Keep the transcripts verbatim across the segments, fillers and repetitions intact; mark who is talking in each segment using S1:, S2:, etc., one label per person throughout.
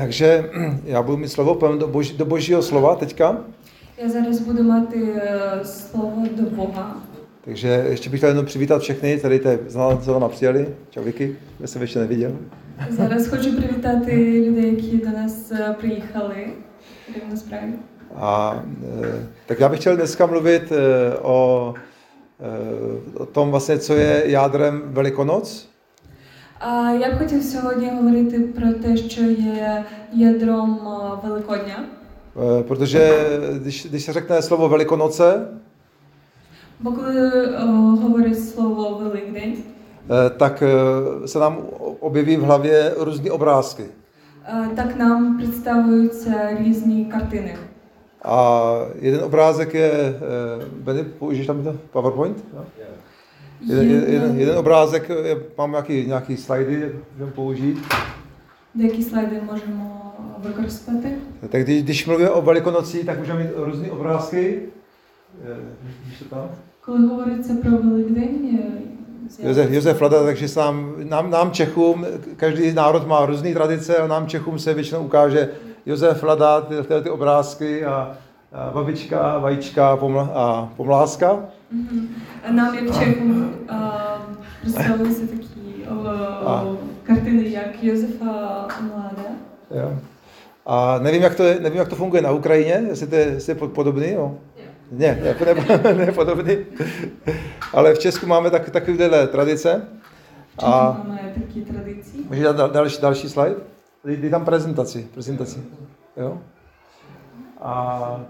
S1: Takže já budu mít slovo, půjdeme do, boží, do božího slova teďka.
S2: Já зараз буду мати slovo do Boha.
S1: Takže ještě bych chtěl jenom přivítat všechny, tady za náma přijeli. Čau Vicky, já jsem ještě neviděl.
S2: Зараз хочу привітати людей, які до нас приїхали. Насправді.
S1: A tak já bych chtěl dneska mluvit o, o tom vlastně, co je jádrem Velikonoc.
S2: А я б хотів сьогодні говорити про те, що є ядром Великодня.
S1: Protože když, když se řekne slovo Velikonoce,
S2: бо коли говорить слово Великдень,
S1: tak se nám objeví v hlavě různé obrázky.
S2: Так нам представляються різні картини.
S1: A jeden obrázek je, Benny, použiješ tam to PowerPoint? No? Jeden, jeden, jeden obrázek, je, mám nějaký, nějaký slajdy, můžeme použít.
S2: Деякі слайди можемо використати.
S1: Tak když, když mluvíme o Velikonocích, tak můžeme mít různé obrázky. Vidíš to tam?
S2: Коли говориться про Великдень,
S1: Josef, Josef Lada, takže se nám, nám, nám Čechům, každý národ má různé tradice a nám Čechům se většinou ukáže Josef Lada, ty, ty, ty obrázky a, a babička, vajíčka pomla, a pomlázka.
S2: Mm-hmm. Nám jak Čechům představují se taky o, kartiny jak Josefa Mlada.
S1: Jo. A nevím jak, to je, nevím, jak to funguje na Ukrajině, jestli to je, jestli je podobný. Jo? Ne, ne, ne, ne podobný. Ale v Česku máme tak, takovéhle tradice.
S2: A máme taky tradici.
S1: Můžeš dát další, další slide? Dej tam prezentaci. prezentaci. Jo? A,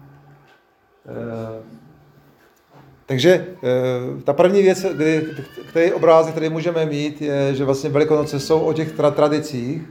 S1: e, takže e, ta první věc, kdy, který obrázek, který můžeme mít, je, že vlastně Velikonoce jsou o těch tra, tradicích.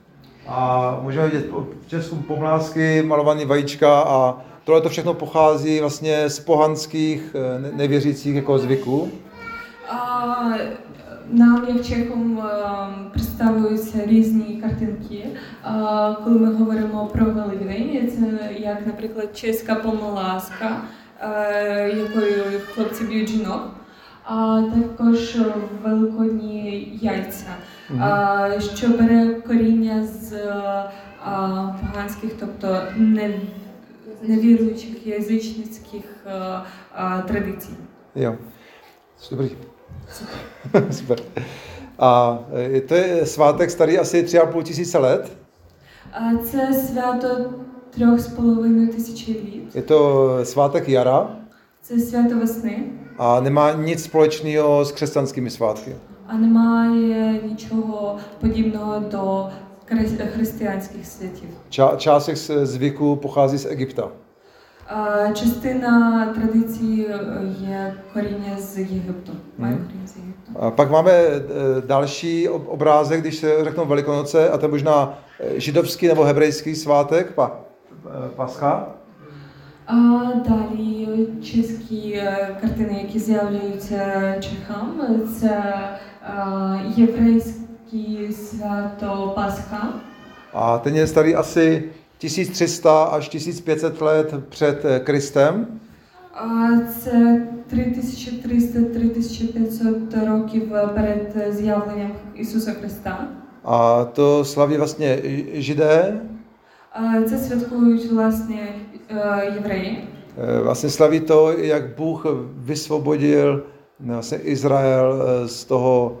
S1: A můžeme vidět v Česku pomlázky, malované vajíčka a tohle to všechno pochází vlastně z pohanských nevěřících jako zvyků.
S2: А, нам, як Чехом, представляються різні картинки. А, коли ми говоримо про Великдень, це як, наприклад, чеська помиласка, якою хлопці б'ють жінок, а також великодні яйця, mm-hmm. а, що бере коріння з а, поганських, тобто не невіруючих язичницьких а, а, традицій.
S1: Jo, dobrý. Super. Super. A to je svátek starý asi tři a půl tisíce let.
S2: А це свято трьох з половиною тисячі літ.
S1: Je to svátek jara.
S2: Це свято весни.
S1: A nemá nic společného s křesťanskými svátky.
S2: А немає нічого подібного до християнських святів.
S1: Ča- část těch zvyků pochází z Egypta.
S2: А, частина традиції є коріння з Єгипту. Має коріння з Єгипту.
S1: A pak máme další obrázek, když se řeknou Velikonoce, a to je možná židovský nebo hebrejský svátek, pa, Pascha.
S2: А далі чеські картини, які з'являються чехам, це а, єврейське свято Пасха.
S1: A ten je starý asi tisíc tři sta až tisíc pět set let před Kristem.
S2: А це три тисячі триста - три тисячі п'ятсот років перед з'явленням Ісуса Христа.
S1: A to slaví vlastně Židé.
S2: А це святкують власне євреї.
S1: Vlastně slaví to, jak Bůh vysvobodil vlastně Izrael z toho,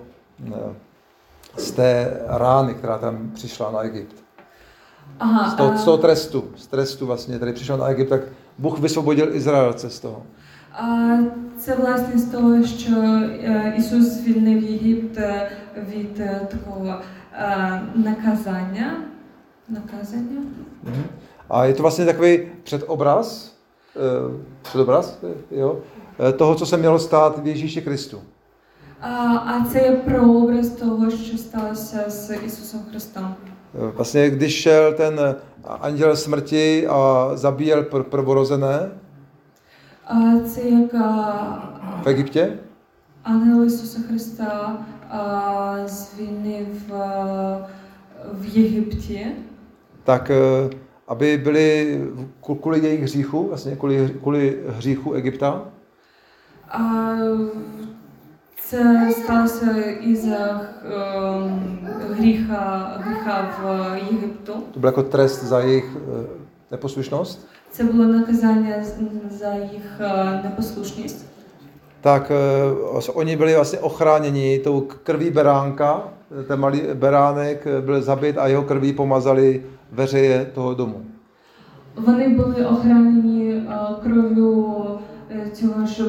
S1: z té rány, která tam přišla na Egypt.
S2: Ага,
S1: z, toho, z toho trestu, z trestu vlastně, který přišel na Egypt, так Бог висвободив Ізраїльця з того.
S2: А це власне з того, що Ісус звільнив Єгипт від такого наказання. Наказання.
S1: A je to vlastně takový předobraz, předobraz jo, toho, co se mělo stát v Ježíši Kristu.
S2: А, а це є прообраз того, що сталося з Ісусом Христом.
S1: Vlastně, když šel ten anděl smrti a zabíjel pr- prvorozené
S2: А це як
S1: v Egyptě,
S2: ангел Ісуса Христа а, звільнив а, в Єгипті,
S1: tak aby byli kvůli jejich hříchu, vlastně kvůli, kvůli hříchu Egypta,
S2: а, Це сталося із-за гріха, гріха в Єгипту.
S1: To byl jako trest za jejich neposlušnost.
S2: Це було наказання за їх непослушність.
S1: Tak uh, oni byli vlastně ochráněni tou krví beránka, ten malý beránek byl zabit a jeho krví pomazali veřeje toho domu.
S2: Вони були охранені кров'ю цього ж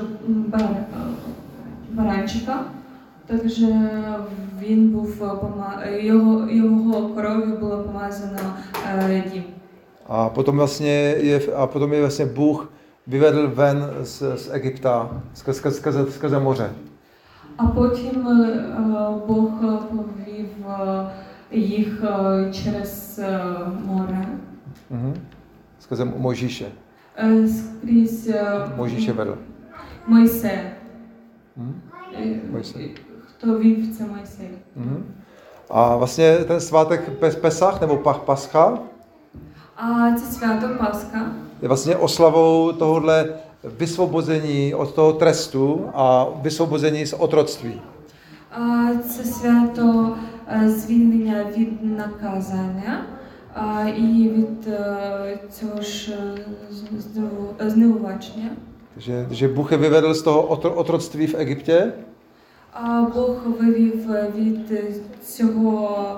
S2: баранчика, також він був його його кров'ю було помазано дім.
S1: A potom vlastně je a potom je vlastně Bůh vyvedl ven z, z Egypta skrze, skrze, skrze moře.
S2: А потім Бог повів їх через море.
S1: Mhm. Skrze Mojžíše.
S2: Скрізь
S1: Mojžíše vedl.
S2: Мойсея.
S1: Mhm. Mojsej.
S2: Хто вів це Мойсей.
S1: Mhm. A vlastně ten svátek Pesach nebo Pascha
S2: А це свято Пасха.
S1: Je vlastně oslavou tohohle vysvobození od toho trestu a vysvobození z otroctví.
S2: А це свято звільнення від наказання і від цього ж зневаження.
S1: Takže, že Bůh je vyvedl z toho otroctví v Egyptě.
S2: А Бог вивів від цього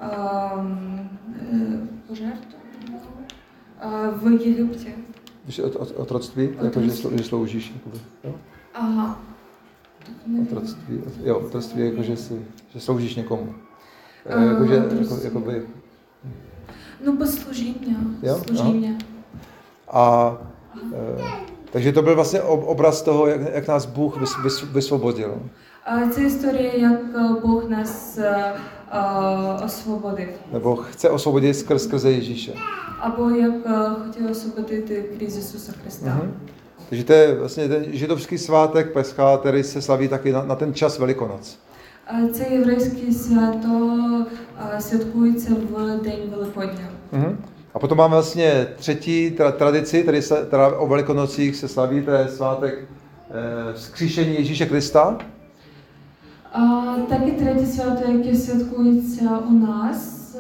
S2: пожертву в Єгипті.
S1: Když od, od, otroctví, jako že, že sloužíš. Jakoby, jo?
S2: Ага.
S1: Otroctví, jo, otroctví, jako že, si, že sloužíš někomu.
S2: А,
S1: jako, že, jako, jakoby,
S2: ну, послужіння,
S1: jo?
S2: служіння.
S1: A, e, takže to byl vlastně obraz toho, jak, jak nás Bůh vys, vys, vysvobodil.
S2: А це історія, як Бог нас а, освободив.
S1: Nebo chce osvobodit skrz, skrze Ježíše.
S2: Або як хотів освободити крізь Ісуса Христа.
S1: Mm-hmm. Takže to je vlastně ten židovský svátek Pescha, který se slaví taky na, na ten čas Velikonoc.
S2: Це єврейське свято святкується в День Великодня.
S1: Mm-hmm. A potom máme vlastně třetí tra- tradici, tedy se, teda o Velikonocích se slaví, to je svátek eh, vzkříšení Ježíše Krista.
S2: А, так і третє свято, яке святкується у нас,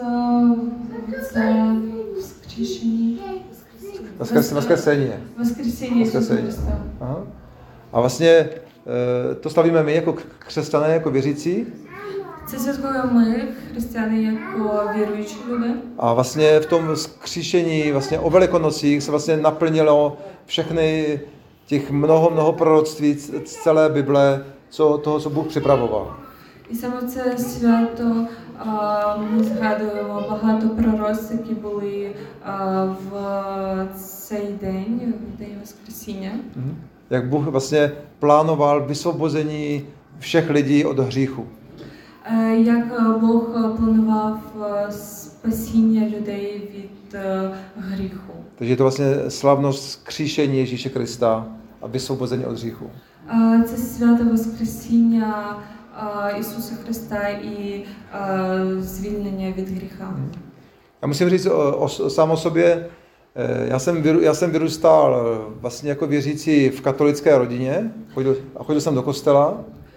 S2: це Воскрешення.
S1: Воскресení.
S2: Воскресення Ісуса Христа.
S1: Aha. A vlastně to slavíme my jako křesťané, jako věřící.
S2: Це святкуємо ми, християни, як віруючі люди.
S1: A vlastně v tom vzkříšení, vlastně o Velikonocích se vlastně naplnilo všechny těch mnoho, mnoho proroctví z celé Bible, co, toho, co Bůh připravoval.
S2: І саме це свято а, ми згадуємо багато пророцтв, які були а, в цей день, в День Воскресіння.
S1: Mm-hmm. Jak Bůh vlastně plánoval vysvobození všech lidí od hříchu.
S2: А, як Бог планував спасіння людей від а, гріху.
S1: Takže je to vlastně slavnost vzkříšení Ježíše Krista a vysvobození od hříchu.
S2: А, це свято Воскресіння Ісуса Христа і звільнення від гріха.
S1: Já musím říct o, o, sám o sobě, já jsem, vyru, já jsem vyrůstal vlastně jako věřící v katolické rodině chodil, a chodil jsem do kostela.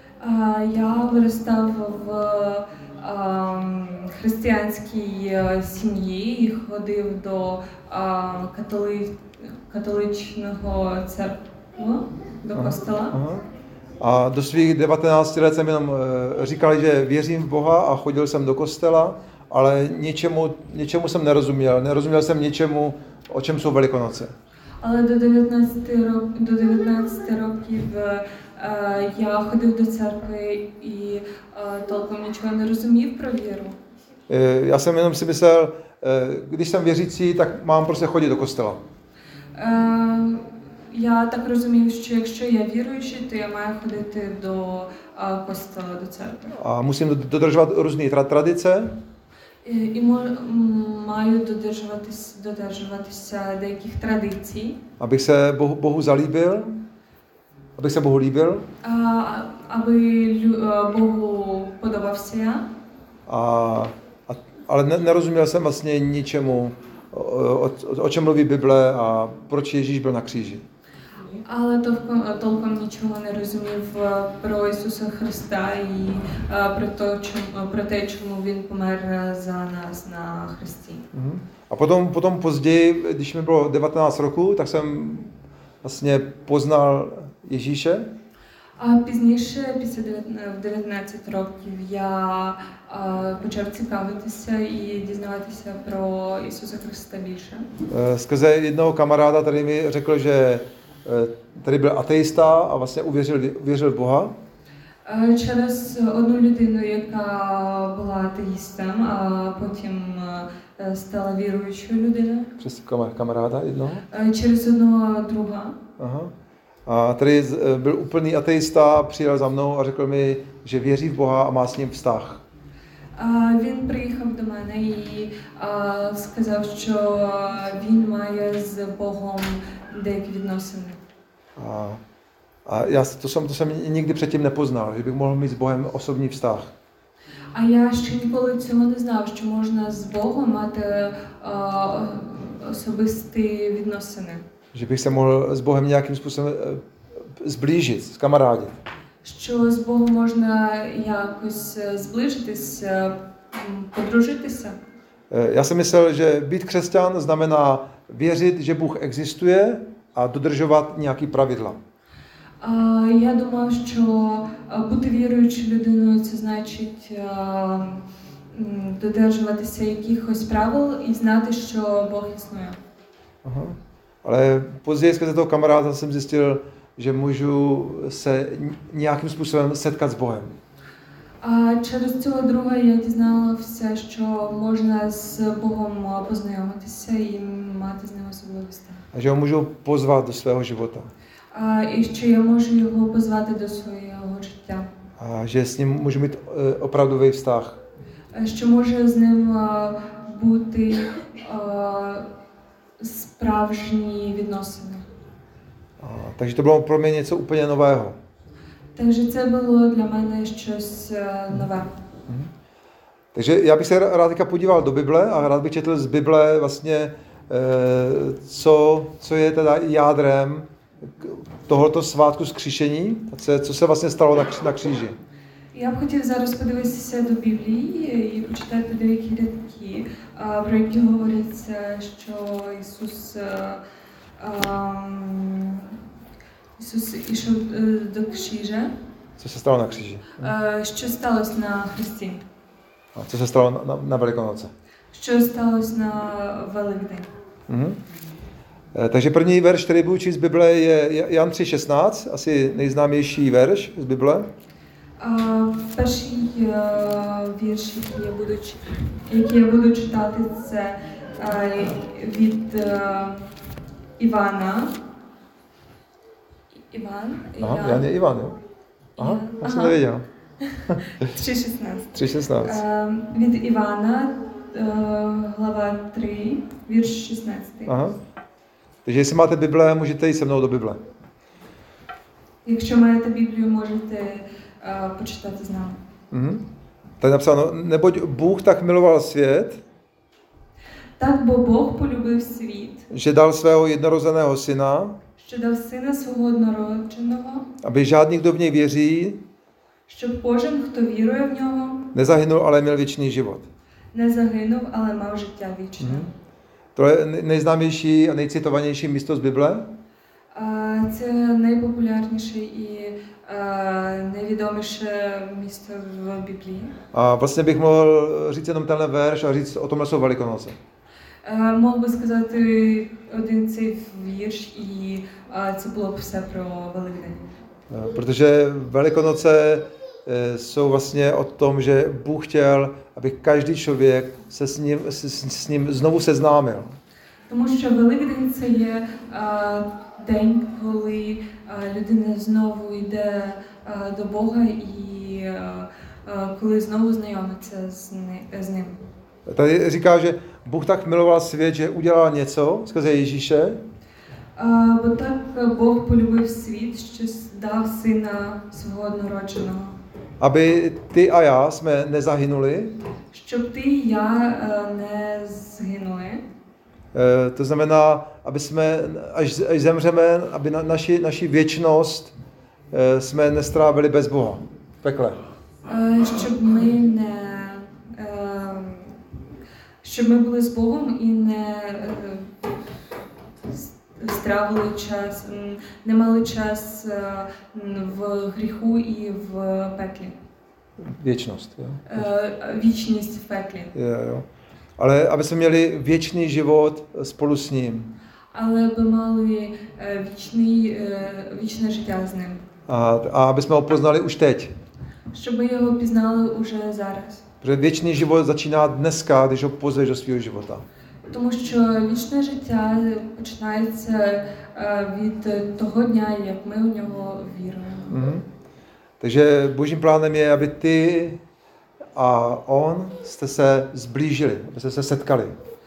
S2: Я виростав в християнській сім'ї і ходив до католи, католичного церкви, до костела.
S1: Aha. A do svých devatenácti let jsem jenom říkal, že věřím v Boha a chodil jsem do kostela, ale ničemu, ničemu jsem nerozuměl. Nerozuměl jsem ničemu, o čem jsou Velikonoce.
S2: Але до дев'ятнадцяти років, до дев'ятнадцяти років я ходив до церкви і толком нічого не розумів про віру.
S1: Já jsem jenom si myslel, když jsem věřící, tak mám prostě chodit do kostela.
S2: Я так розумів, що якщо я віруючий, то я маю ходити до костела, до церкви.
S1: A musím dodržovat různé tra- tradice.
S2: І, і маю додержуватись, додержуватися деяких традицій.
S1: Abych se Bohu, Bohu zalíbil, abych se Bohu líbil.
S2: А, аби Богу подобався я.
S1: A, a, ale ne, nerozuměl jsem vlastně ničemu, o, o, o čem mluví Bible a proč Ježíš byl na kříži.
S2: Але толком, толком нічого не розумів е, про Ісуса Христа і е, про те, чому, про те, чому Він помер за нас на хресті.
S1: Mhm. A potom, potom později, když mi bylo devatenáct roku, tak jsem vlastně poznal Ježíše.
S2: А пізніше, після дев'ятнадцяти років, я е, почав цікавитися і дізнаватися про Ісуса Христа більше.
S1: Eh, Skrze jednoho kamaráda, který mi řekl, že eh, tady byl ateista a vlastně uvěřil, uvěřil v Boha.
S2: Е, Через одну людину, яка була атеїстом, а потім е, стала віруючою людиною.
S1: Přes kam- kamaráda jednoho.
S2: Е, Через одного друга.
S1: Aha. A tady z- eh, byl úplný ateista, přijel za mnou a řekl mi, že věří v Boha a má s ním vztah.
S2: Е, Він приїхав до мене і е, сказав, що він має з Богом деякі відносини.
S1: A, a já to jsem, to jsem nikdy předtím nepoznal, že bych mohl mít s Bohem osobní vztah.
S2: А я ще ніколи цього не знав, що можна з Богом мати е, особисті відносини.
S1: Že bych se mohl s Bohem nějakým způsobem eh, zblížit, zkamarádit.
S2: Що з Богом можна якось е, зближитись, е, м, подружитися.
S1: Eh, Já jsem myslel, že být křesťan znamená věřit, že Bůh existuje a dodržovat nějaký pravidla.
S2: А, Я думав, що е, бути віруючою людиною це значить е, м, додержуватися якихось правил і знати, що Бог існує.
S1: Aha. Ale později skrze toho kamaráda jsem zjistil, že můžu se nějakým způsobem setkat s Bohem.
S2: А через цього друга я дізналася, що можна з Богом е, познайомитися і мати з ним особливості.
S1: A že ho můžu pozvat do svého života.
S2: А, І що я можу його позвати до свого життя.
S1: A že s ním můžu mít eh, opravdový vztah.
S2: Е, Що може з ним е, бути е, справжні відносини.
S1: A, takže to bylo pro mě něco úplně nového.
S2: Takže це було для мене щось е, нове.
S1: Takže já bych se rád teďka podíval do Bible a rád bych četl z Bible vlastně, eh, co, co je teda jádrem tohoto svátku vzkříšení, co, co se vlastně stalo na, kři- na kříži.
S2: Я б хотів зараз подивитися до Біблії і почитати деякі рядки, а, про які говориться, що Ісус, е, ем, Ісус ішов е, до кřiže,
S1: Co se stalo na kříži.
S2: е, що сталося на Христі,
S1: A co se stalo na, na, na Velikonoce.
S2: що сталося на Великдень.
S1: Mhm. Eh, Takže první verš, který budu číst z Bible, je Jan tři šestnáct, asi nejznámější verš z Bible.
S2: А, Перший е, вірш, який я буду, чи- який я буду читати, це е, від е, Івана. Іван?
S1: Aha, Jan je Ivan, jo? Aha,
S2: Jan.
S1: já jsem
S2: Aha.
S1: nevěděl.
S2: три шістнадцять.
S1: tři šestnáct.
S2: Е, Від Івана, е, глава три, вірш шістнадцятий.
S1: Aha. Takže jestli máte Bible, můžete jít se mnou do Bible.
S2: Якщо маєте Біблію, можете е, почитати з нами.
S1: Mhm. Tady je napsáno, neboť Bůh tak miloval svět,
S2: Так, бо Бог полюбив світ,
S1: že dal svého jednorozeného syna,
S2: що дав сина свого однородженого,
S1: aby žádný, kdo v něj věří,
S2: щоб кожен, хто вірує в нього,
S1: nezahynul, ale měl věčný život.
S2: не загинув, але мав життя вічне.
S1: Mhm. To je nej- nejznámější a nejcitovanější místo z Bible.
S2: А, Це найпопулярніше і е, найвідоміше місто в Біблії.
S1: A vlastně bych mohl říct jenom tenhle verš a říct, o tomhle jsou Velikonoce.
S2: Е, Мог би сказати один цей вірш, і е, це було б все про Великдень.
S1: Eh, Protože Velikonoce eh, jsou vlastně o tom, že Bůh chtěl, aby každý člověk se s ním, s, s ním znovu seznámil.
S2: Тому що Великдень це є е, день, коли е, людина знову йде е, до Бога і е, е, коли знову знайомиться з, ни- з ним.
S1: Tady říká, že Bůh tak miloval svět, že udělal něco skrze Ježíše,
S2: Е, Бо так Бог полюбив світ, що дав сина свого однородженого,
S1: aby ty a já jsme nezahynuli,
S2: щоб ти і я е, не згинули,
S1: To znamená, aby jsme, až, až zemřeme, aby na, naši, naši věčnost jsme nestrávili bez Boha v pekle.
S2: Щоб ми не щоб ми були з Богом і не стравили час, не мали час в гріху і в пеклі.
S1: Věčnost. Jo?
S2: Вічність в пеклі.
S1: Jo, jo. Ale aby jsme měli věčný život spolu s ním.
S2: Але би мали вічний, вічне життя з ним.
S1: A, a aby jsme ho poznali už teď.
S2: Щоб ми його пізнали уже зараз.
S1: Protože věčný život začíná dneska, když ho pozveš do svého života.
S2: Тому що вічне життя починається від того дня, як ми у нього віруємо.
S1: Mm-hmm. Takže Božím plánem je, aby ty a on jste se zblížili, abyste se setkali.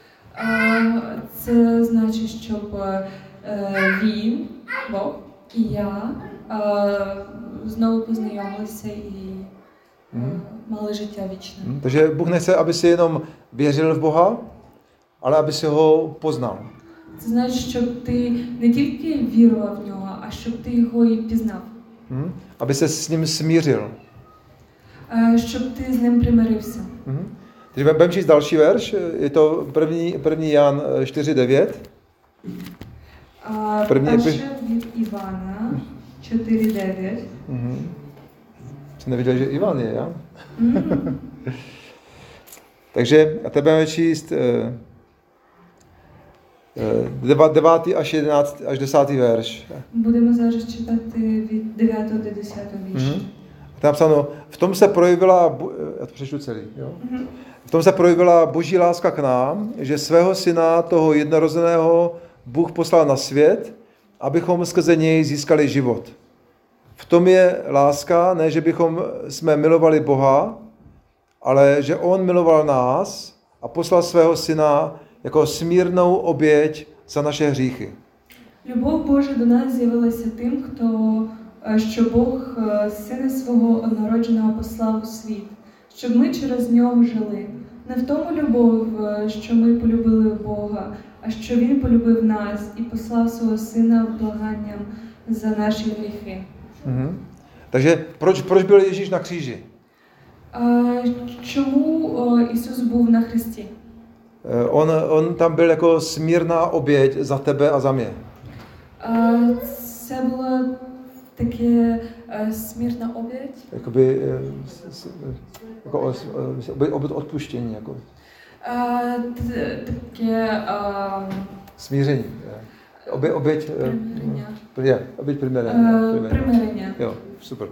S2: Це значить, щоб він, Бог і я знову познайомилися і mm. mali žitě věčné.
S1: Mm. Takže Bůh nechce, aby si jenom věřil v Boha, ale aby si ho poznal.
S2: Це значить, щоб ти не тільки вірував в нього, а щоб ти його і пізнав.
S1: Mm. Aby se s ním smířil.
S2: Щоб ти з ним примирився.
S1: Mm. Takže budeme číst další verš, je to první, první Jan čtyři devět.
S2: První Перше від Івана čtyři devět.
S1: Mm. Jsem nevěděl, že Ivan je, já? Mm. Takže a teď budeme číst uh, devátý až jedenáctý až desátý verš.
S2: Budeme зараз читати від дев'ятого до десятого вірша.
S1: Mm. Tam napsáno, v tom se projevila, já to přečtu celý, jo? Mm. V tom se projevila Boží láska k nám, že svého syna, toho jednorozeného, Bůh poslal na svět, abychom skrze něj získali život. V tom je láska, ne, že bychom jsme milovali Boha, ale že on miloval nás a poslal svého syna jako smírnou oběť za naše hříchy.
S2: Любов Божа до нас з'явилася тим, хто, що Бог сина свого однородженого послав у світ, щоб ми через нього жили. Не в тому любов, що ми полюбили Бога, а що він полюбив нас і послав свого сина благанням за наші гріхи.
S1: Mm-hmm. Takže proč, proč byl Ježíš na kříži?
S2: Uh, čemu uh, Isus був на хресті?
S1: Uh, on, on tam byl jako smírná oběť za tebe a za mě.
S2: Uh, це була таке uh, смертна обěť?
S1: Jakoby uh, jako uh, odpuštění. Jako.
S2: Uh, t- také uh,
S1: smíření. Obě, oběť,
S2: примирення.
S1: Oběť примирення.
S2: Примирення.
S1: Jo, super.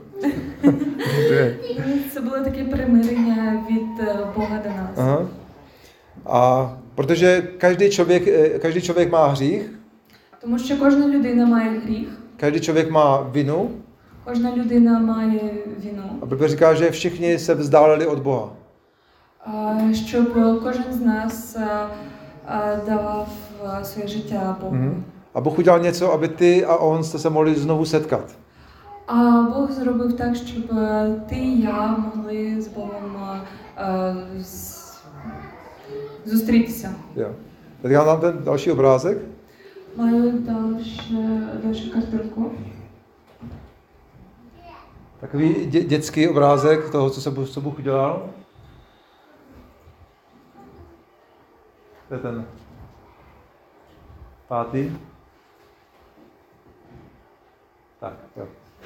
S2: Це було таке примирення від Бога до нас.
S1: Aha. A protože každý člověk, každý člověk má hřích.
S2: Тому що кожна людина має гріх.
S1: Každý člověk má vinu.
S2: Кожна людина має вину.
S1: A Bible říká, že všichni se vzdálili od Boha.
S2: Щоб кожен з нас давав своє життя Богу. Mm-hmm.
S1: A Bůh udělal něco, aby ty a on jste se mohli znovu setkat.
S2: А Бог зробив так, щоб ти і я могли з Богом зустрітися.
S1: Jo. Teď já mám ten další obrázek.
S2: Маю další, další kартинку.
S1: Takový dě, dětský obrázek toho, co se co Bůh udělal. To je ten pátý. Tak, jo.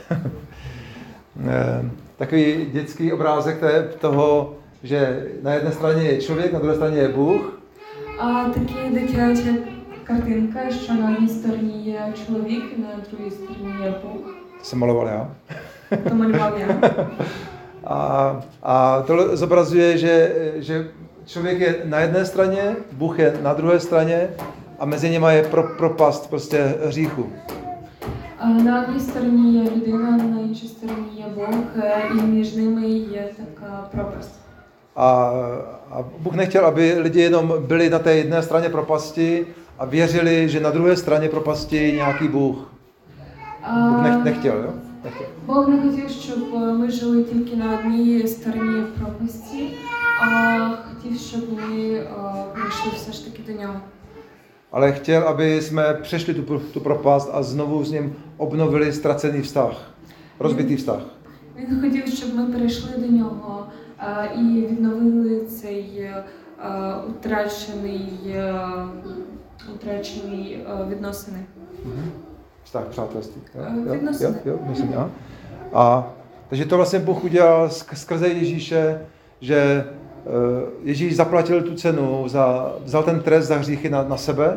S1: Takový dětský obrázek toho, že na jedné straně je člověk, na druhé straně je Bůh. A
S2: taky dитяча картинка, що на одній стороні є чоловік, на другій стороні є Бог.
S1: To jsem maloval já.
S2: To maloval já.
S1: A, a to zobrazuje, že, že člověk je na jedné straně, Bůh je na druhé straně a mezi nimi je pro, propast prostě hříchu.
S2: А на одній стороні є людина, на іншій стороні є Бог, і між ними є така пропасть.
S1: A, a Bůh nechtěl, aby lidi jenom byli na té jedné straně propasti a věřili, že na druhé straně propasti je nějaký Bůh. Bůh nech, nechtěl, jo? Nechtěl.
S2: Бог не хотів, щоб ми жили тільки на одній стороні пропасті, а хотів, щоб ми прийшли все ж таки до нього.
S1: ale chtěl, aby jsme přešli tu, tu propast a znovu s ním obnovili ztracený vztah, rozbitý vztah.
S2: Він хотів, щоб ми перейшли до нього а, і відновили цей а, утрачений, а, утрачений а, відносини.
S1: Vztah přátelství. Jo,
S2: Uh,
S1: jo,
S2: відносини.
S1: jo, jo, myslím, a, a takže to vlastně Bůh udělal skrze Ježíše, že Ježíš zaplatil tu cenu, za, vzal ten trest za hříchy na, na sebe.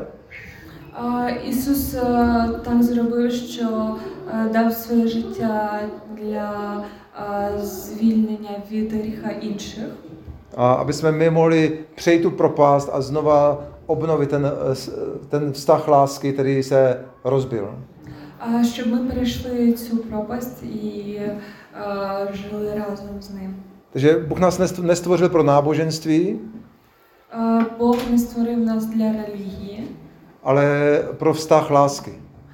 S2: А, Ісус а, так зробив, що а, дав своє життя для а, звільнення від гріха інших.
S1: A aby jsme my mohli přejít tu propast a znova obnovit ten, ten vztah lásky, který se rozbil.
S2: А щоб ми перейшли цю пропасть і а, жили разом з ним.
S1: Takže Bůh nás nestvořil pro náboženství,
S2: А, Бог не створив нас для релігії,
S1: ale pro vztah lásky.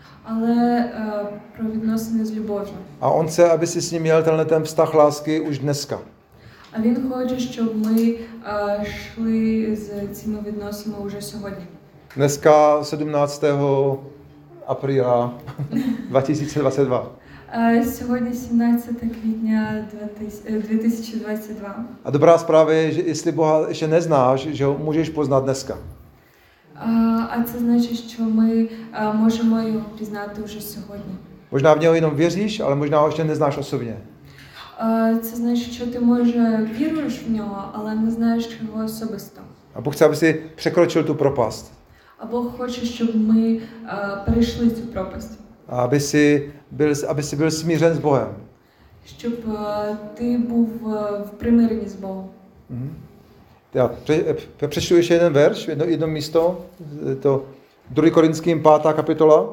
S2: але а, про відносини з любов'ю.
S1: A on chce, aby si s ním měl tenhle ten vztah lásky už dneska.
S2: А він хоче, щоб ми а, йшли з цими відносинами вже сьогодні.
S1: Dneska sedmnáctého apríla dva tisíce dvacet dva.
S2: А, Сьогодні сімнадцяте квітня дві тисячі двадцять два.
S1: A dobrá zpráva je, že jestli Boha ještě neznáš, že ho můžeš poznat dneska.
S2: А, а це значить, що ми а, можемо його пізнати вже сьогодні.
S1: Možná v něho jenom věříš, ale možná ho ještě neznáš osobně.
S2: А, це значить, що ти, може, віруєш в нього, але не знаєш його особисто.
S1: A Bůh chce, aby si překročil tu propast.
S2: А Бог хоче, щоб ми а, перейшли цю пропасть.
S1: A aby si byl, aby si byl smířen s Bohem.
S2: Щоб а, ти був а, в примиренні з Богом.
S1: Mhm. Já pře, přečtu ještě jeden verš, jedno, jedno místo, to druhý Korinským pátá kapitola.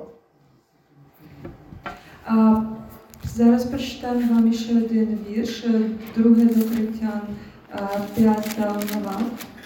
S2: А, зараз прочитаю вам ще один вірш, друге до Коринтян, а, п'ята глава.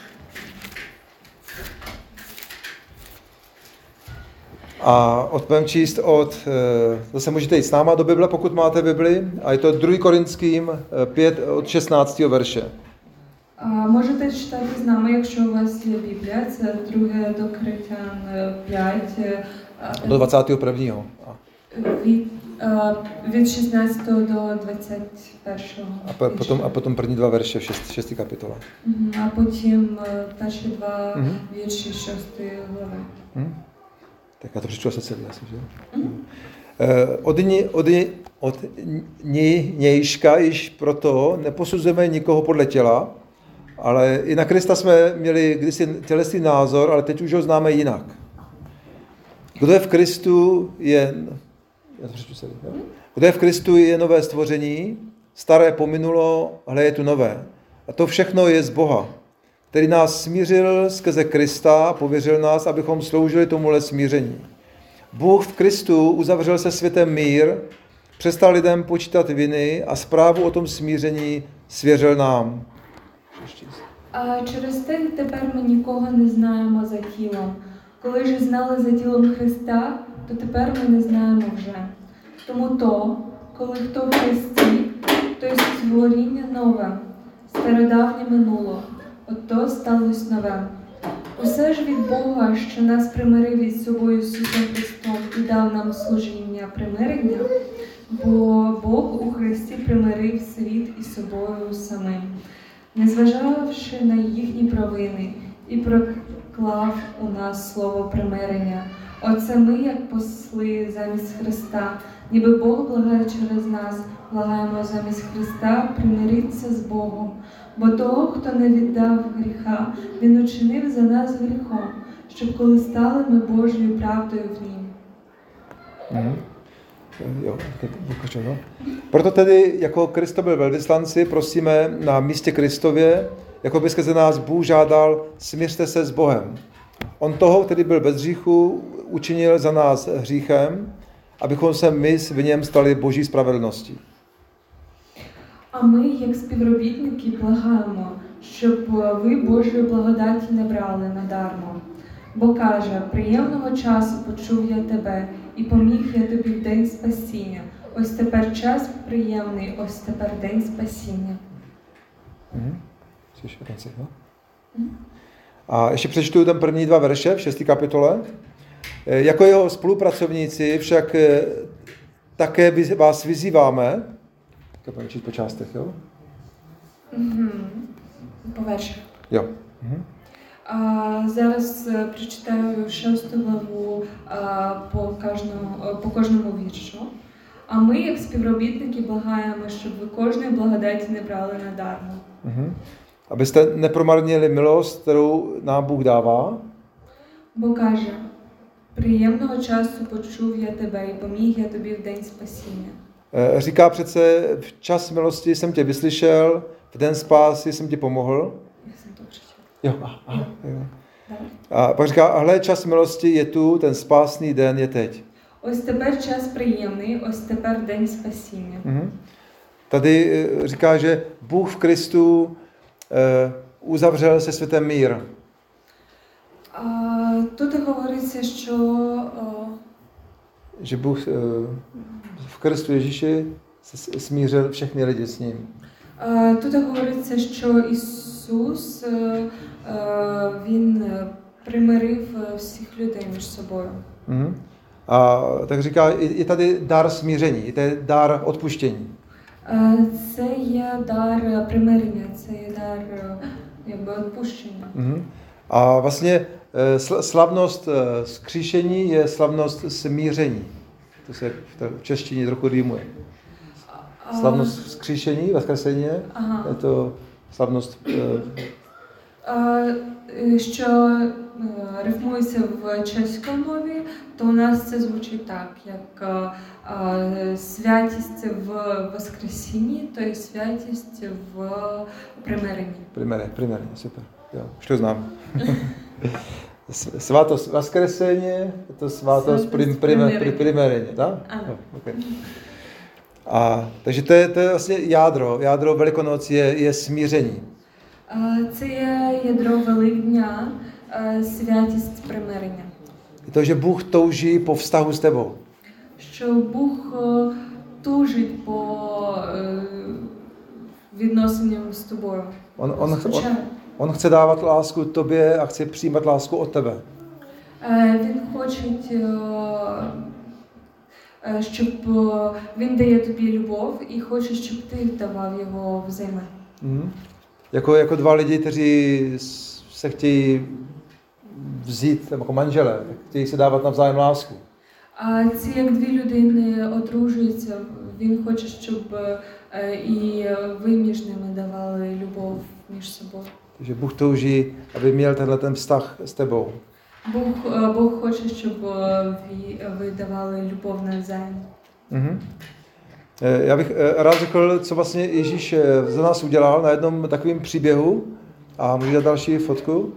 S1: A budeme číst od, zase můžete jít s náma do Bible, pokud máte Bibli, a je to druhý Korinským pět od šestnáctého verše.
S2: А, можете читати з нами, якщо у вас є Біблія, це друге до Коринтян п'ять, а,
S1: Do dvacátého prvního.
S2: від, а, від шістнадцятого до двадцять першого.
S1: A, po, potom, a potom první dva verše v šest, šestý kapitole.
S2: Мгм, А потім е, перші два
S1: Мгм.
S2: вірші шостої глави.
S1: Hm? Tak já to přečtu asi celý, asi, že? Mm. Od, ní, od, ní, od ní, nějška již proto neposuzujeme nikoho podle těla, ale i na Krista jsme měli kdysi tělesný názor, ale teď už ho známe jinak. Kdo je v Kristu je, já to přečtu celý, jo? Kdo je v Kristu je nové stvoření, staré pominulo, hle je tu nové. A to všechno je z Boha, který nás smířil skrze Krista a pověřil nás, abychom sloužili tomuhle smíření. Bůh v Kristu uzavřel se světem mír, přestal lidem počítat viny a zprávu o tom smíření svěřil nám.
S2: А через те тепер ми нікого не знаємо за тілом. Коли ж знали за тілом Христа, то тепер ми не знаємо вже. Тому то, коли хто в Христі, то й створіння нове, стародавнє минуло, ото сталося нове. Усе ж від Бога, що нас примирив із собою Ісусом Христом і дав нам служіння примирення, бо Бог у Христі примирив світ із собою самим, незважавши на їхні провини, і проклав у нас слово примирення. Оце ми, як посли замість Христа, ніби Бог благає через нас, благаємо замість Христа примиритися з Богом. Бо того, хто не віддав гріха, Він учинив за нас гріхом, щоб коли стали ми Божою правдою в Нім.
S1: Mm. Jo, no. Proto tedy jako Kristo byl velvyslanci, prosíme na místě Kristově, jako by skrze nás Bůh žádal, smiřte se s Bohem. On toho, který byl bez hříchu, učinil za nás hříchem, abychom se my v něm stali Boží spravedlností.
S2: А ми, як співробітники, благаємо, щоб ви Божої благодаті не брали надармо. Бо каже, приємного часу почув я тебе, і поміг я тобі в день спасіння. Ось тепер час приємний, ось тепер день спасіння.
S1: Mhm. A ještě přečtu ten první dva verše v šesté kapitole. Jako jeho spolupracovníci však také vás vyzýváme, budeme číst po částech, jo?
S2: Mm-hmm. По вершах.
S1: Jo. Mhm.
S2: А, зараз е, прочитаю шосту главу а, по кожному, е, по кожному віршу. А ми, як співробітники, благаємо, щоб ви кожної благодаті не брали надармо.
S1: Mhm. Abyste nepromarnili milost, kterou nám Bůh dává.
S2: Бо каже, приємного часу почув я тебе і поміг я тобі в день спасіння.
S1: Říká přece, v čas milosti jsem tě vyslyšel, v den spásy jsem ti pomohl.
S2: Я сам то прочитав.
S1: Jo, a, a, jo.
S2: Давай.
S1: A pak říká, hle, čas milosti je tu, ten spásný den je teď.
S2: Ось тепер час приємний, ось тепер день спасіння.
S1: Mhm. Tady eh, říká, že Bůh v Kristu eh, uzavřel se světem mír.
S2: А, тут говориться, що о,
S1: Že Bůh eh, v Kristu Ježíši se s- smířil všechny lidi s ním.
S2: а, тут говориться, що Ісус е, е, він е, примирив е, всіх людей між собою.
S1: Mhm. A tak říká, je je tady dar smíření, je tady dar odpuštění.
S2: Е, Це є дар примирення, це є дар е, якби відпущення.
S1: Mhm. A vlastně eh, sl- slavnost eh, vzkříšení je slavnost smíření. To se v té- v češtině trochu rýmuje.
S2: А,
S1: Slavnost vzkříšení, vzkresení,
S2: Ага.
S1: je to slavnost eh,
S2: Е, е, Що е, рифмується в чеській мові, то у нас це звучить так, як е, е, святість в Воскресінні, то є святість в примиренні.
S1: primere, primere, super. Jo, už to znám. S- Svátost Vaskresení, je to svátost
S2: Svátost
S1: prim, prime, pri,
S2: primereně.
S1: primereně, tak?
S2: Ano.
S1: Jo, okay. A, takže to je, to je vlastně jádro. Jádro Velikonoc je, je smíření.
S2: Е, Це є ядро Великдня, е, святість примирення.
S1: Je to, že Bůh touží po vztahu s tebou.
S2: Що Бог е, тужить по е, відносинам з тобою.
S1: On, on, on,
S2: Скучає.
S1: on chce dávat lásku tobě a chce přijímat lásku od tebe.
S2: Е, Він хоче, е, е, щоб е, він дає тобі любов і хоче, щоб ти давав його взайми.
S1: Mhm. Jako, jako dva lidi, kteří s- se chtějí vzít jako manželé, tak chtějí se dávat navzájem lásku.
S2: А це як дві людини одружуються, він хоче, щоб е, і ви між ними давали любов між собою.
S1: Takže Bůh touží, aby měl tenhle ten vztah s tebou.
S2: Бог, е, Бог хоче, щоб е, ви, ви давали любов навзаєм.
S1: Mhm. Eh, Já bych eh, rád řekl, co vlastně Ježíš eh, za nás udělal na jednom takovém příběhu. A můžu dát další fotku.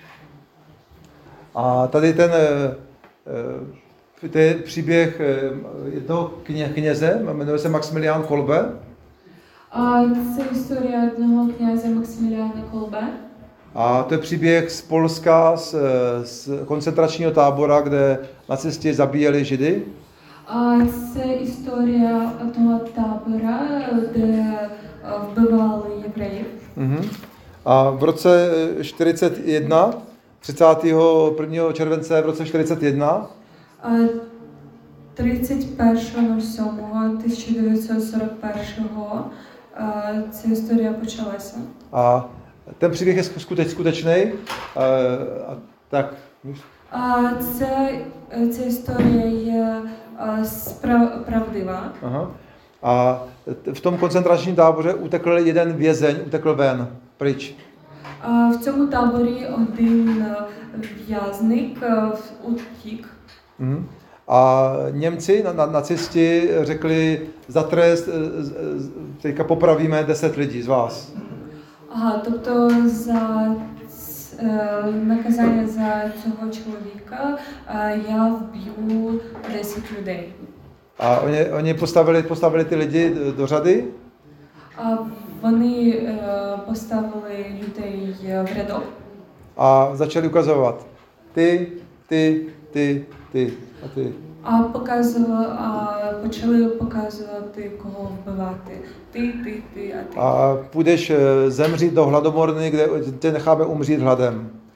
S1: A tady ten eh, eh, to je příběh eh, jednoho kně, kněze, jmenuje se Maximilián Kolbe.
S2: А це історія одного князя Максиміліана Колбе.
S1: A to je příběh z Polska, z, z koncentračního tábora, kde nacisti zabíjeli Židy.
S2: А це історія одного табора, де е, вбивали євреїв.
S1: Mhm. A v roce čtyřicet jedna, třicátého prvního července v roce čtyřicet jedna,
S2: А тридцять першого сьомого тисяча дев'ятсот сорок першого е, ця історія почалася.
S1: a ten příběh je skuteč, skutečný. A tak,
S2: А це, е, ця історія є е, справ, правдива.
S1: aha. A v tom koncentračním táboře utekl jeden vězeň, utekl ven, pryč.
S2: А в цьому таборі один е, в'язник е, утік.
S1: Mhm. A Němci, na, na, nacisti řekli, za trest, teďka popravíme deset lidí z vás.
S2: Ага, тобто за ц- е, наказання за цього чоловіка е, я вб'ю десять людей.
S1: A oni, oni postavili, postavili ty lidi do, do řady
S2: А вони е, поставили людей в рядок
S1: a začali ukazovat. Ty, ty, ty, ty a ty.
S2: а показували, а почали показувати, кого вбивати. Ти, ти, ти, а ти.
S1: A půjdeš eh, zemřít do hladomorny, kde tě necháme umřít hladem.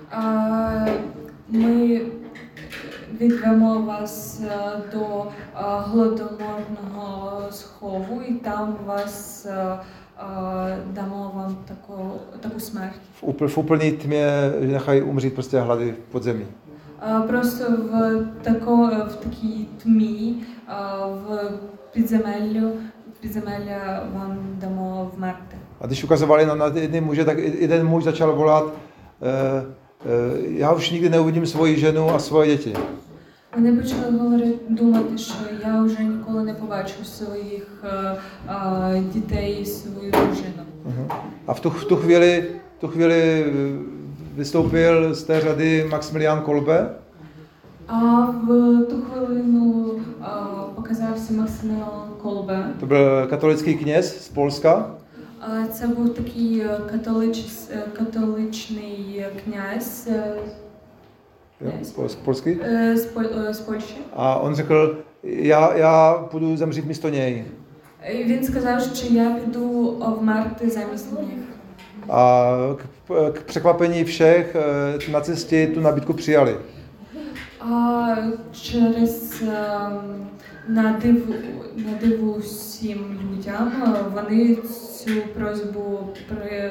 S2: А, Ми відвемо вас е, до е, голодоморного схову і там вас е, е, дамо вам таку, таку смерть.
S1: V, úpl, v úplný tmě, že nechají umřít prostě hlady v podzemí.
S2: Е, Просто в, тако, в такій тмі, е, в підземеллю, підземелля вам дамо вмерти.
S1: A když ukazovali na, na jedny muže, tak jeden muž začal volat, e, e, já už nikdy neuvidím svoji ženu a svoje děti.
S2: Вони почали говорити, думати, що я вже ніколи не побачу своїх е, е, дітей і свою дружину.
S1: Uh-huh. A v tu, v tu chvíli, v tu chvíli vystoupil z té řady Maximilian Kolbe.
S2: А в ту хвилину е, показався Максиміліан Колбе.
S1: To byl katolický kněz z Polska.
S2: Е, Це був такий католич, католичний князь, е,
S1: Jo, pol, polský.
S2: е, з, Пол- е, з Польщі.
S1: A on řekl, já, já půjdu zemřít místo něj.
S2: І він сказав, що я піду вмерти замість них.
S1: A k, k překvapení všech eh, nacisti tu nabídku přijali.
S2: А через е, на диву, на диву всім людям е, вони цю просьбу при,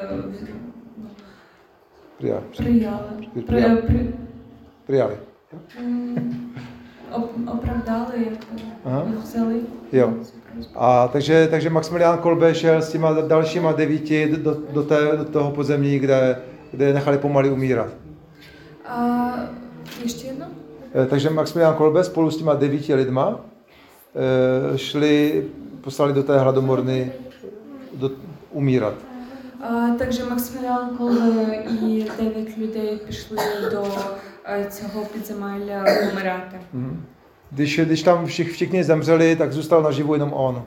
S1: Přijali.
S2: прияли, при,
S1: Прияли.
S2: при,
S1: Přijali.
S2: м, оп- оправдали, як
S1: Ага.
S2: їх взяли.
S1: Jo.
S2: цю просьбу.
S1: A takže, takže Maximilian Kolbe šel s těma dalšíma devíti do, do, té, do toho podzemí, kde, kde je nechali pomalu umírat.
S2: А, ještě jedno?
S1: Eh, Takže Maximilian Kolbe spolu s těma devíti lidma eh, šli, poslali do té hladomorny do, umírat.
S2: А, також Максиміліан Колбе і дев'ять людей пішли до е, цього підземелля помирати.
S1: Mhm. Když, když tam všich, všichni zemřeli, tak zůstal naživu jenom on.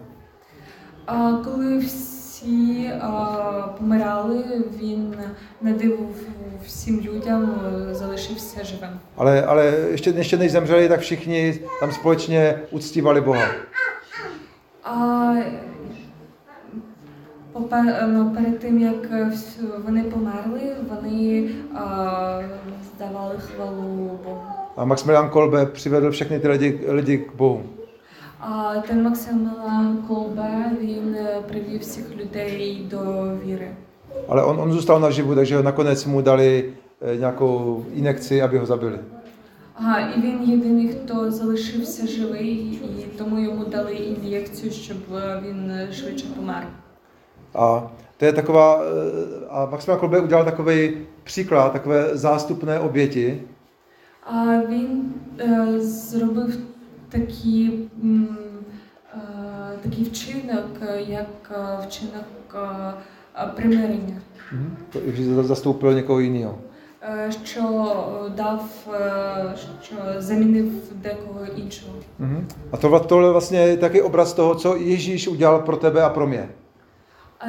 S2: А коли всі а, помирали, він на диву всім людям е, залишився живим.
S1: Ale, ale ještě, ještě než zemřeli, tak všichni tam společně uctívali Boha.
S2: А попе- ну, перед тим, як вс- вони померли, вони а, здавали хвалу Богу.
S1: A Maximilian Kolbe přivedl všechny ty lidi, lidi k Bohu.
S2: А ten Максиміліан Колбе, він е, привів всіх людей до віри.
S1: Ale on, on zůstal naživu, takže nakonec mu dali eh, nějakou injekci, aby ho zabili.
S2: Ага, і він єдиний, хто залишився живий, і тому йому дали ін'єкцію, щоб е, він е, швидше помер.
S1: A to je taková, eh, a Maximilian Kolbe udělal takový příklad, takové zástupné oběti,
S2: А він е, зробив такі, м, е, такий вчинок, е, як е, вчинок е, е, примирення,
S1: že zastoupil někoho jiného.
S2: е, що е, дав, е, що замінив декого іншого.
S1: A tohle, tohle vlastně je taky obraz toho, co Ježíš udělal pro tebe a pro mě.
S2: А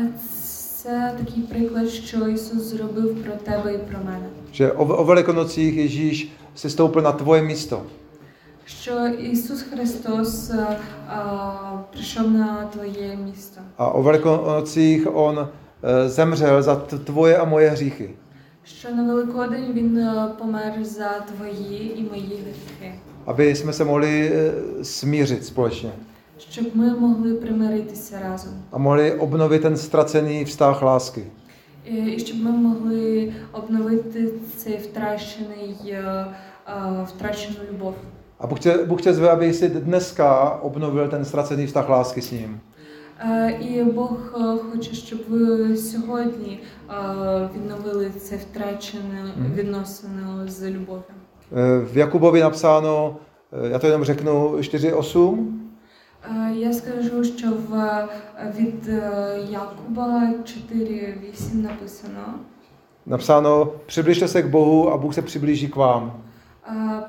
S2: це такий приклад, що Ісус зробив про тебе і про мене.
S1: Že o, o Velikonocích Ježíš se stoupil na tvoje místo.
S2: Що Ісус Христос е, а, прийшов на твоє місто.
S1: A o Velikonocích on eh, zemřel za t- tvoje a moje hříchy.
S2: Що на Великодень Він е, помер за твої і мої гріхи.
S1: Aby jsme se mohli eh, smířit společně.
S2: Щоб ми могли примиритися разом.
S1: A mohli obnovit ten ztracený vztah lásky.
S2: І, і щоб ми могли обновити цей втрачений, е, е, втрачену любов.
S1: A Bůh tě, Bůh tě zve, aby si dneska obnovil ten ztracený vztah lásky s ním.
S2: Е, І Бог е, хоче, щоб ви сьогодні е, відновили це втрачене
S1: Мгм.
S2: відносини з любов'ю.
S1: Eh, V Jakubovi napsáno, eh, já to jenom řeknu, čtyři osm,
S2: Е, Я скажу, що в е, від е, Якуба чотири вісім написано:
S1: napsáno, přibližte se k Bohu a Bůh se přiblíží k vám.
S2: е,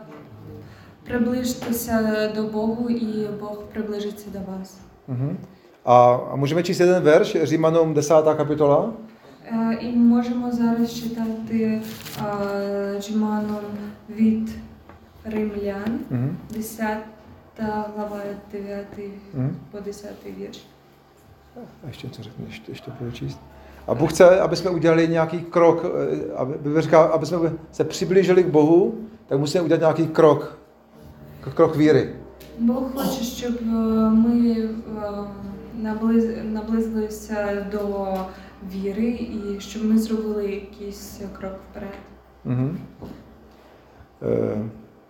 S2: приближтеся до Богу, і Бог приближиться до вас.
S1: Mhm. A, a můžeme číst jeden verš, Římanům desátá kapitola.
S2: Е, І можемо зараз читати е, Джиманом від Римлян,
S1: Mhm.
S2: десята глава, дев'ятий
S1: Mhm.
S2: по десятий вірш.
S1: A ještě něco řeknu, ještě, ještě budu číst. A Bůh chce, aby jsme udělali nějaký krok, aby, říká, aby jsme se přiblížili k Bohu, tak musíme udělat nějaký krok, krok víry.
S2: Бог хоче, щоб ми наблизилися до віри і щоб ми зробили якийсь крок вперед.
S1: Mm-hmm. E,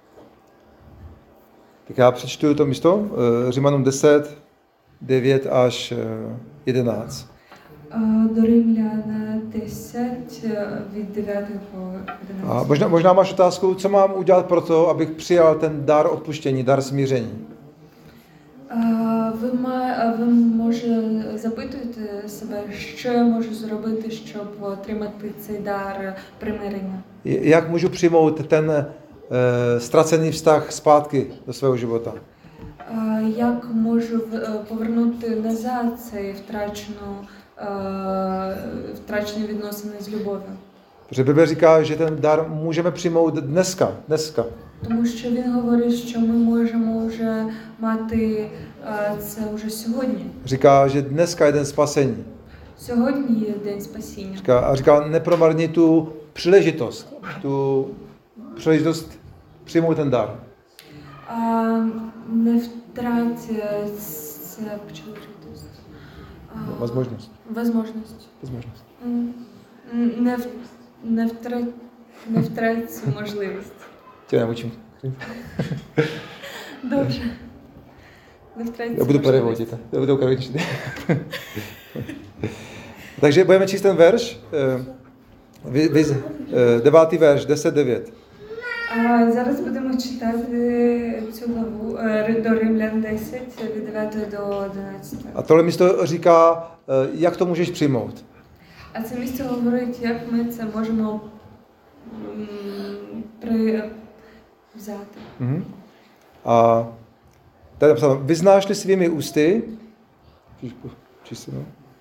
S1: tak já přečtu to místo, e, Římanům deset, devět až jedenáct.
S2: До Римляна десять, від дев'ятого по jedenáct.
S1: A možná, možná máš otázku, co mám udělat pro to, abych přijal ten dar odpuštění, dar smíření.
S2: Ви, ма, ви може запитуєте себе, що я можу зробити, щоб отримати цей дар примирення?
S1: Jak můžu přijmout ten e, ztracený vztah zpátky do svého života?
S2: Як можу повернути назад цей втрачену, втрачені відносини з любов'ю?
S1: Protože Bible říká, že ten dar můžeme přijmout dneska, dneska.
S2: Тому що він говорить, що ми можемо вже мати це вже сьогодні.
S1: Říká, že dneska je den spasení.
S2: Сьогодні є день спасіння.
S1: Říká, a říká, nepromarni tu příležitost, tu příležitost přijmout ten dar.
S2: А, не втрать це příležitost.
S1: Возможность.
S2: Возможность.
S1: Возможность.
S2: Не, в, не, втрать, не втрать цю можливість.
S1: Tě naučím.
S2: Dobře. Не втрать цю
S1: Já budu převodit. Já budu ukradit. Takže budeme číst ten verš. Devátý verš, deset devět.
S2: А зараз будемо читати цю главу до Римлян десять, від дев'ятого до одинадцятого.
S1: A tohle místo říká, jak to můžeš přijmout.
S2: А це місце говорить, як ми це можемо при... взяти.
S1: Mm-hmm. A tady je napsáno, vyznáš-li svými ústy, čistě, no.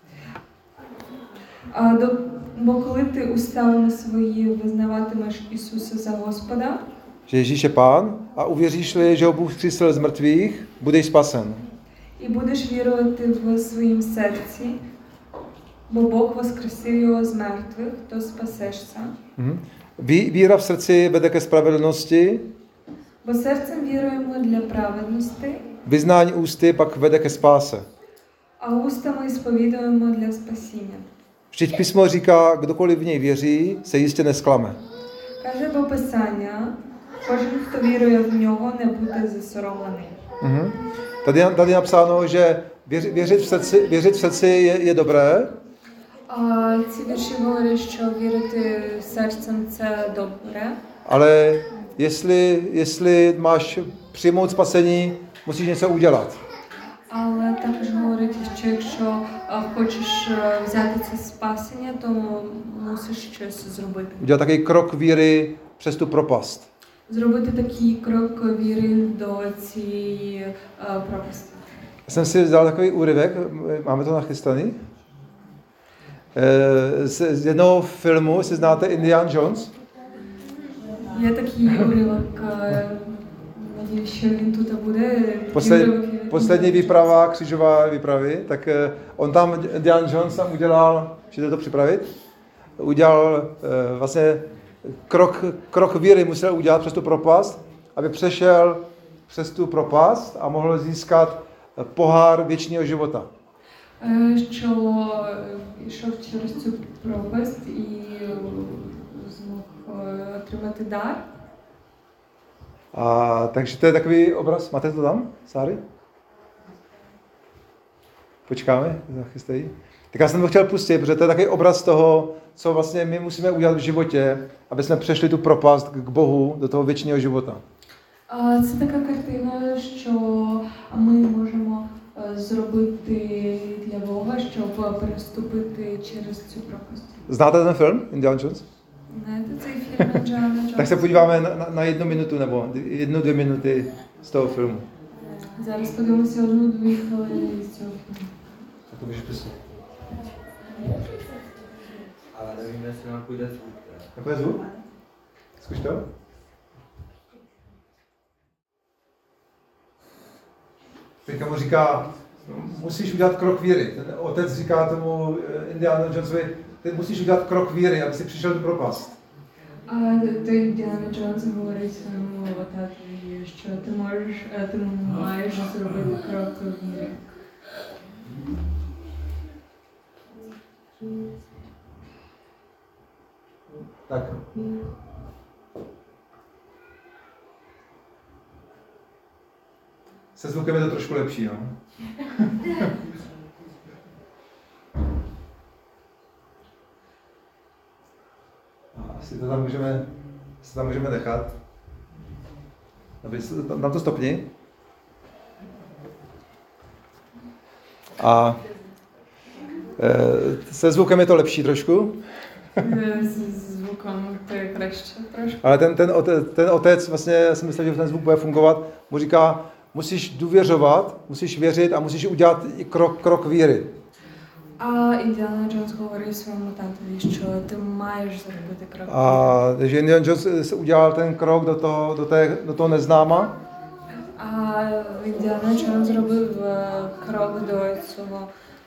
S2: А, до, бо коли ти устами свої визнаватимеш Ісуса за Господа,
S1: že Ježíš je Pán, a uvěříš-li, že ho Bůh vzkřísil z mrtvých, budeš spasen.
S2: І будеш вірувати в своїм серці, бо Бог воскресив його з мертвих, то спасешся.
S1: Mm-hmm. Víra v srdci vede ke spravedlnosti,
S2: бо серцем віруємо для праведності,
S1: vyznání ústy pak vede ke spáse.
S2: а устами сповідуємо для спасіння.
S1: Vždyť písmo říká, kdokoliv v něj věří, se jistě nesklame.
S2: Каже до Писання, кожен, хто вірує в нього, не буде засоромлений.
S1: Mm-hmm. Tady, tady je napsáno, že věř, věřit v srdci, věřit v srdci je, je dobré,
S2: А ці вірші говорять, що вірити серцем це добре.
S1: ale jestli, jestli máš přijmout spasení, musíš něco udělat.
S2: Але також говорить, що якщо а, хочеш а, взяти це спасення, то мусиш щось зробити.
S1: Udělat takový krok víry přes tu propast.
S2: Зробити такий крок віри до цієї а, пропасті.
S1: Jsem si vzal takový úryvek, máme to nachystaný, z, z jednoho filmu, jestli znáte Indiana Jones.
S2: Є такий уривок, надію, що він тут буде.
S1: Posled, poslední výprava, křižová výpravy, tak on tam, Indiana Jones tam udělal, můžete to připravit, udělal vlastně krok, krok víry musel udělat přes tu propast, aby přešel přes tu propast a mohl získat pohár věčného života.
S2: Що йшов через цю пропасть і змог отримати дар.
S1: A, takže to je takový obraz. Máte to tam, Sáry? Počkáme, zachystají. Tak já jsem to chtěl pustit, protože to je takový obraz toho, co vlastně my musíme udělat v životě, aby jsme přešli tu propast k Bohu do toho věčného života.
S2: Це така картина, що ми можемо зробити для Бога, щоб переступити через цю пропасть.
S1: Znáte ten film, Indiana Jones?
S2: Знаєте цей фільм Інdiana Jones?
S1: Tak se podíváme na, na, na jednu minutu nebo jednu, dvě minuty z toho filmu.
S2: Зараз подивимося одну-дві хвилини з цього фільму.
S1: Tak to můžeš pisat.
S3: Ale nevím, jestli nám půjde zvuk.
S1: Takové zvuk? Zkuš to. Teďka mu říká, musíš udělat krok víry. Ten otec říká tomu Indiana Jonesovi, ty musíš udělat krok víry, aby si přišel do propast.
S2: А той Індіана Джонс говорить своєму татові, що ти можеш, ти маєш зробити крок віри.
S1: Tak. Se zvukem je to trošku lepší, no. Asi to tam můžeme, si tam můžeme nechat. Tam to stopni. A e, se zvukem je to lepší trošku.
S2: З звуком то je краще трошки.
S1: Ale ten, ten, otec, ten otec, vlastně, já si myslím, že ten zvuk bude fungovat, mu říká, musíš důvěřovat, musíš věřit a musíš udělat i krok, krok víry.
S2: А Індіана Джонс говорить своєму татові, що ти маєш зробити крок.
S1: A takže Indiana Jones udělal ten krok do toho, do té, do toho neznáma.
S2: А Індіана Джонс зробив крок до цього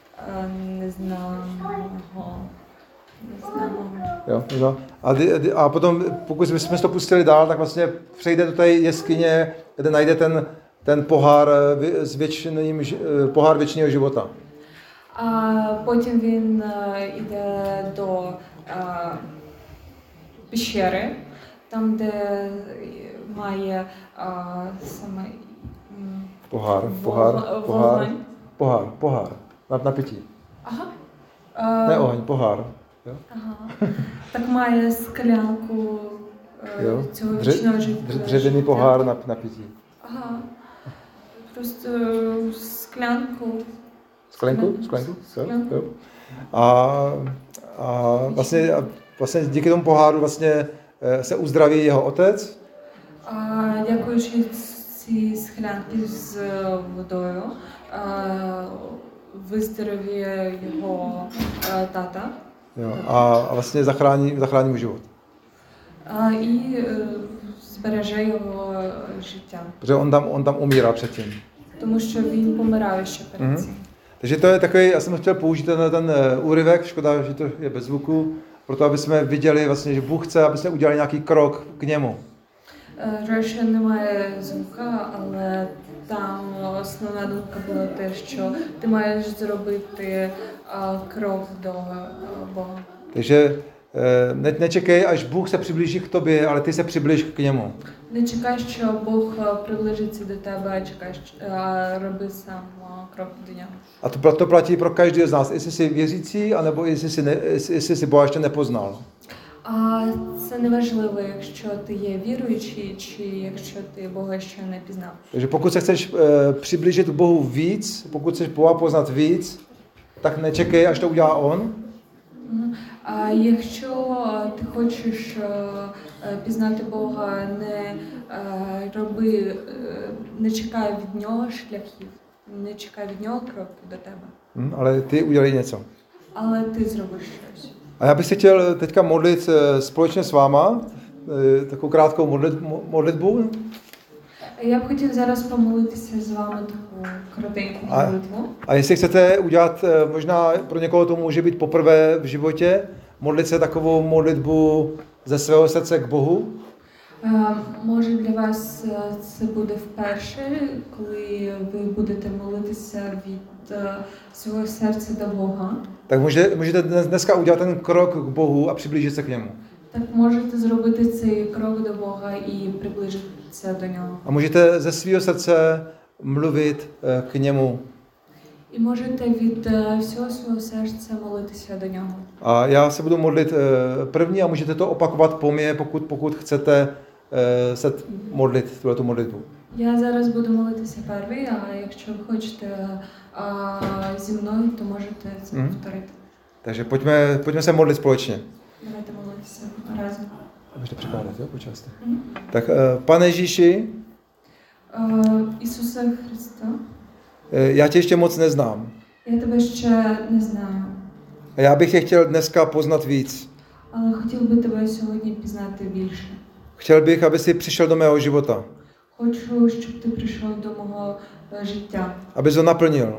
S2: незнаного.
S1: Jo, jo. A, a potom, pokud jsme to pustili dál, tak vlastně přejde do té jeskyně, kde najde ten, ten pohár, s věčným, pohár věčného života.
S2: А потім він йде до пещери, там, де має саме
S1: pohár, pohár, pohár,
S2: вогонь.
S1: pohár, pohár, na, na pití.
S2: Ага.
S1: Ne oheň, pohár. Jo?
S2: Ага. Так має склянку
S1: Jo?
S2: цього
S1: Dře,
S2: вічного життя.
S1: dře, dřevěný pohár na, na pití.
S2: Ага. Просто склянку.
S1: Sklenku? Sklenku? Jo? Jo. A, a vlastně, a vlastně díky tomu poháru vlastně se uzdraví jeho otec.
S2: А, дякуючи цій склянці з водою, а, виздоровіє його а, тата.
S1: Jo, a, a vlastně zachrání, zachrání mu život.
S2: А, і е, збереже його життя.
S1: Protože on tam, on tam umírá předtím.
S2: Тому що він помирає ще перед
S1: Mhm.
S2: цим.
S1: Takže to je takový, já jsem chtěl použít ten, ten úryvek, škoda, že to je bez zvuku, proto aby jsme viděli vlastně, že Bůh chce, aby jsme udělali nějaký krok k němu.
S2: Жаль, що немає звука, але там основна думка була те, що ти маєш зробити а, крок до а, Бога.
S1: Takže ne, nečekej, až Bůh se přiblíží k tobě, ale ty se přiblíž k němu.
S2: Не чекай, що Бог а, приближиться до тебе, а чекай, що- а роби сам а, крок до нього.
S1: A to, to platí pro každého z nás, jestli jsi věřící, anebo jestli jsi, ne, jestli jsi Boha ještě nepoznal.
S2: А це не важливо, якщо ти є віруючий, чи якщо ти Бога ще не пізнав.
S1: Takže pokud se chceš e, přiblížit k Bohu víc, pokud chceš Boha poznat víc, tak nečekej, až to udělá On,
S2: Мгм. А якщо ти хочеш е, е, пізнати Бога, не е, роби, е, не чекай від нього шляхів, не чекай від нього кроків до тебе,
S1: hm, ale ty udělej něco.
S2: але ти зробиш щось.
S1: A já bych se chtěl teďka modlit e, společně s váma, e, takovou krátkou modlit, mo- modlitbu.
S2: Я б хотів зараз помолитися з вами таку коротеньку
S1: А-
S2: молитву.
S1: A jestli chcete udělat, e, možná pro někoho to může být poprvé v životě, modlit se takovou modlitbu ze svého srdce k Bohu,
S2: Е, Може для вас е, це буде вперше, коли ви будете молитися від е, свого серця до Бога.
S1: tak může, můžete dnes, dneska udělat ten krok k Bohu a přiblížit se k němu.
S2: Так можете зробити цей крок до Бога і приближитися до нього.
S1: A můžete ze svého srdce mluvit e, k němu.
S2: І можете від е, всього свого серця молитися до нього.
S1: A já se budu modlit e, první a můžete to opakovat po mně, pokud, pokud chcete e, se modlit tuhletu modlitbu.
S2: Я зараз буду молитися перший, а якщо ви хочете а, зі мною, то можете це
S1: Мгм.
S2: повторити.
S1: Takže pojďme, pojďme se modlit společně.
S2: Давайте молитися разом.
S1: Můžete překládat, jo, po částech.
S2: Мгм.
S1: Tak, e, Pane Ježíši,
S2: Е, Ісусе Христа,
S1: e, já tě ještě moc neznám.
S2: я тебе ще не знаю,
S1: A já bych tě chtěl dneska poznat víc.
S2: але хотів би тебе сьогодні пізнати більше.
S1: Chtěl bych, aby jsi přišel do mého života,
S2: Хочу, щоб ти прийшов до мого е, життя,
S1: aby ho naplnil,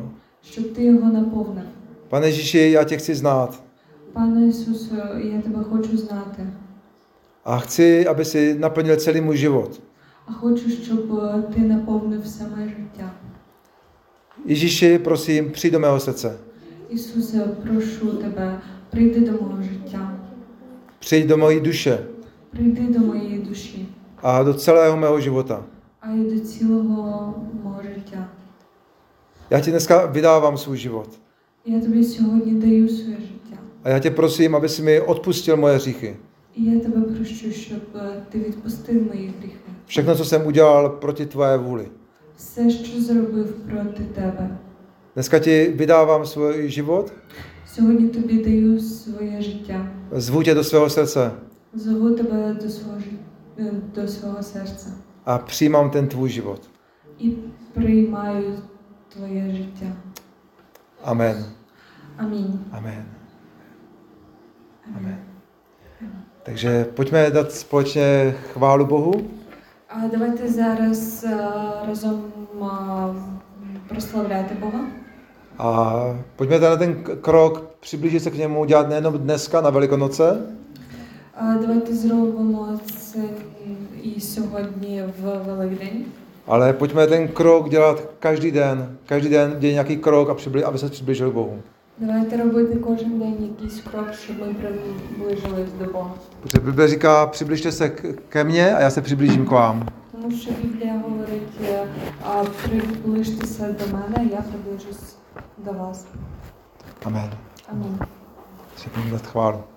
S2: щоб ти його наповнив.
S1: Pane Ježíši, já tě chci znát.
S2: Пане Ісусу, я тебе хочу знати.
S1: A chci, aby si naplnil celý můj život.
S2: А хочу, щоб ти наповнив все моє життя.
S1: Ježíši, prosím, přijď do mého srdce.
S2: Ісусе, прошу тебе, прийди до мого життя.
S1: Přijď do mojí duše
S2: Прийди до моєї душі.
S1: a do celého mého života.
S2: А й до цілого мого життя.
S1: Já ti dneska vydávám svůj život.
S2: Я тобі сьогодні даю своє життя.
S1: A já tě prosím, aby si mi odpustil moje hříchy.
S2: І я тебе прошу, щоб ти відпустив мої гріхи.
S1: Všechno, co jsem udělal proti tvé vůli.
S2: Все, що зробив проти тебе.
S1: Dneska ti vydávám svůj život,
S2: Сьогодні тобі даю своє життя.
S1: zvu tě do svého srdce
S2: Зову тебе до свого, жи- до свого серця.
S1: a přijímám ten tvůj život.
S2: І приймаю твоє життя.
S1: Amen.
S2: Амінь.
S1: Amen. Amen. Takže pojďme dát společně chválu Bohu.
S2: А давайте зараз е, разом е, прославляти Бога.
S1: A pojďme na ten k- krok přiblížit se k němu, dělat nejenom dneska na Velikonoce,
S2: А давайте зробимо це і сьогодні в Великдень.
S1: ale pojďme ten krok dělat každý den. Každý den dělej nějaký krok, a přibli, aby se přiblížil k Bohu.
S2: Давайте робити кожен день якийсь крок, щоб ми приближились до Бога.
S1: Protože Bible říká, přibližte se k- ke mně a já se přiblížím k vám.
S2: Тому що Біблія говорить, е, а, приближтеся до мене, я приближусь до вас.
S1: Amen.
S2: Амінь.
S1: Ще budeme dát chválu.